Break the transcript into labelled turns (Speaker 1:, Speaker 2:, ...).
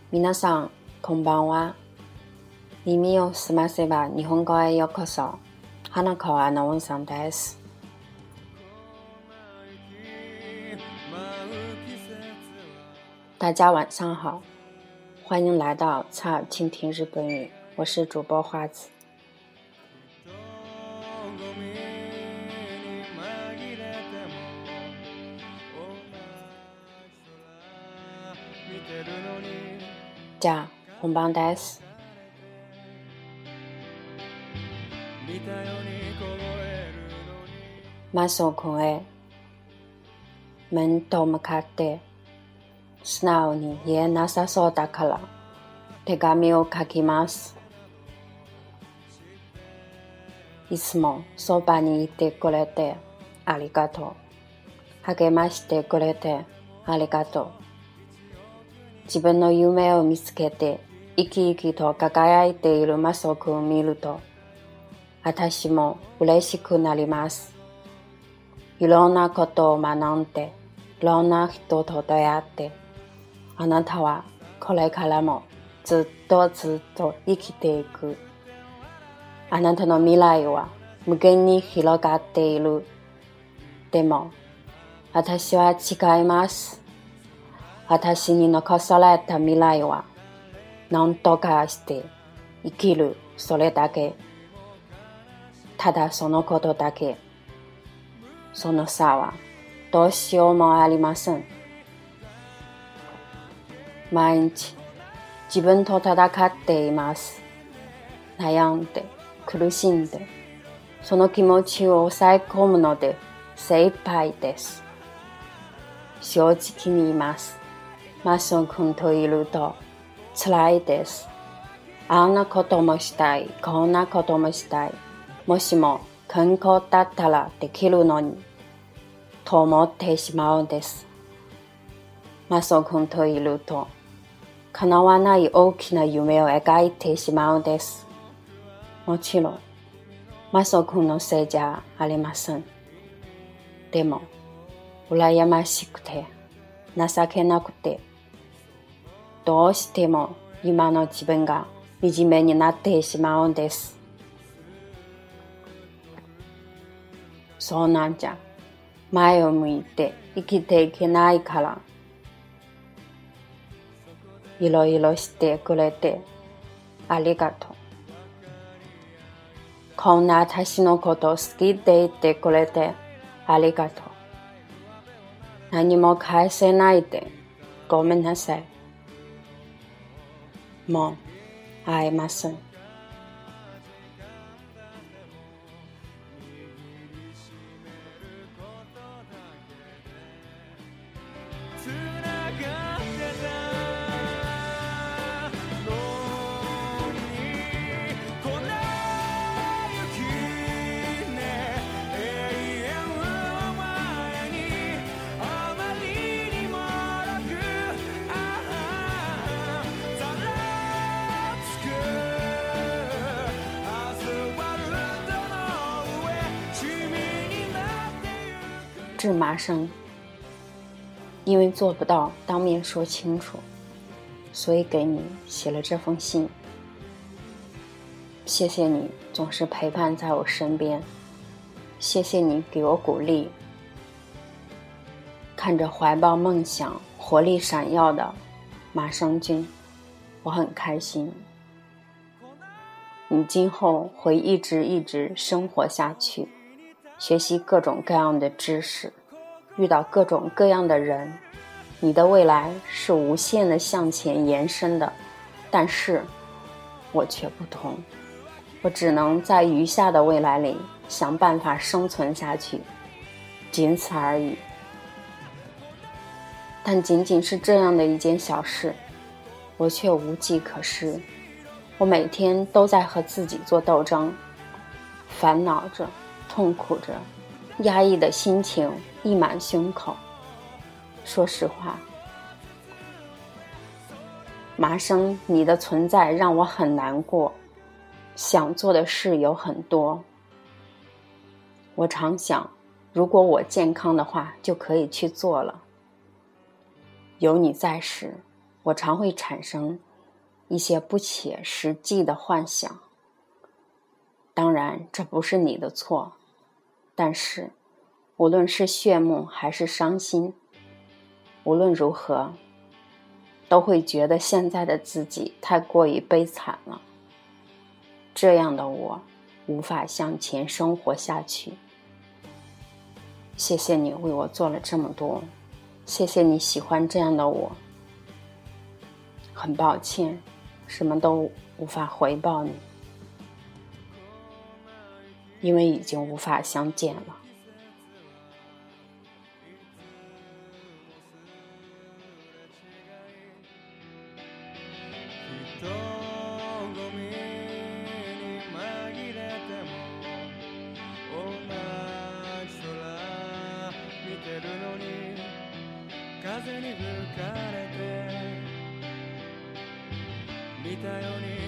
Speaker 1: 皆さん、こんばんは。耳をすませば日本語へようこそ。花川アナウンサーです。大家晚上好，欢迎来到侧耳倾听日本语，我是主播花子。じゃあ本番です。マスオ君へ面と向かって素直に言えなさそうだから手紙を書きます。いつもそばにいてくれてありがとう。励ましてくれてありがとう。自分の夢を見つけて生き生きと輝いているマスオ君を見ると私も嬉しくなります。いろんなことを学んでいろんな人と出会ってあなたはこれからもずっとずっと生きていく。あなたの未来は無限に広がっている。でも私は違います。私に残された未来は何とかして生きる、それだけ。ただそのことだけ。その差はどうしようもありません。毎日自分と戦っています。悩んで苦しんでその気持ちを抑え込むので精一杯です。正直に言います。マスオ君といると辛いです。あんなこともしたい、こんなこともしたい。もしも健康だったらできるのにと思ってしまうんです。マスオ君といると叶わない大きな夢を描いてしまうんです。もちろんマスオ君のせいじゃありません。でも羨ましくて情けなくてどうしても今の自分が惨めになってしまうんです。そうなんじゃ。前を向いて生きていけないから。いろいろしてくれてありがとう。こんな私のこと好きでいてくれてありがとう。何も返せないでごめんなさい。もう会えません。致麻生，因为做不到当面说清楚，所以给你写了这封信。谢谢你总是陪伴在我身边，谢谢你给我鼓励。看着怀抱梦想、活力闪耀的麻生君，我很开心。你今后会一直生活下去，学习各种各样的知识，遇到各种各样的人，你的未来是无限的向前延伸的。但是我却不同，我只能在余下的未来里想办法生存下去，仅此而已。但仅仅是这样的一件小事，我却无计可施。我每天都在和自己做斗争，烦恼着，痛苦着，压抑的心情溢满胸口。说实话，麻生，你的存在让我很难过，想做的事有很多。我常想，如果我健康的话，就可以去做了。有你在时， 我常会产生一些不切实际的幻想。当然，这不是你的错，但是无论是炫目还是伤心，无论如何，都会觉得现在的自己太过于悲惨了。这样的我无法向前生活下去。谢谢你为我做了这么多，谢谢你喜欢这样的我。很抱歉，什么都无法回报你，因为已经无法相见了。
Speaker 2: 風に吹かれて見たように